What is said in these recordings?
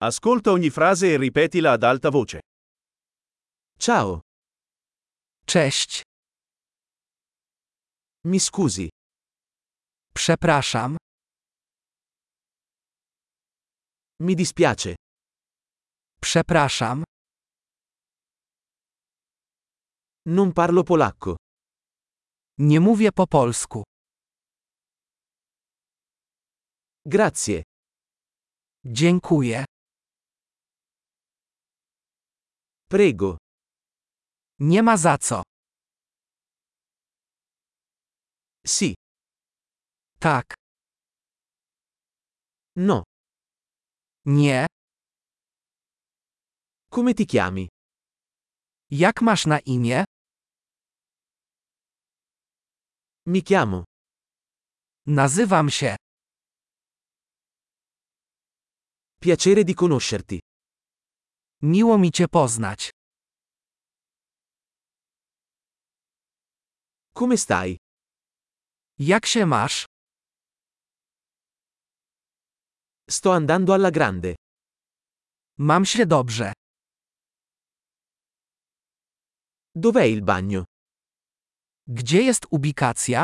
Ascolta ogni frase e ripetila ad alta voce. Ciao, Cześć. mi scusi, Przepraszam. mi dispiace, Przepraszam. non parlo polacco. Nie mówię po polsku. Grazie, Dziękuję. prego, Nie ma za co. sì, Tak. no. Nie. Come ti chiami? Jak masz na imię? Mi chiamo. Nazywam się. Piacere di conoscerti. Miło mi cię poznać. Come stai? Jak się masz? Sto andando alla grande. Mam się dobrze. Dov'è il bagno? Gdzie jest ubikacja?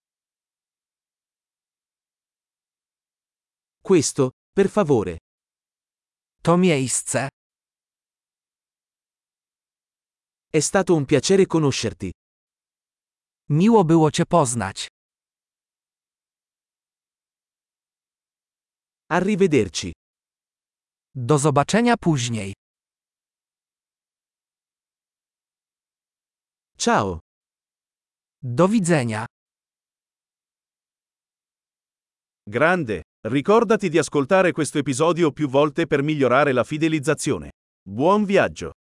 Questo, per favore. To miejsce. È stato un piacere conoscerti. Miło było cię poznać. Arrivederci. Do zobaczenia później. Ciao. Do widzenia. Grande, ricordati di ascoltare questo episodio più volte per migliorare la fidelizzazione. Buon viaggio!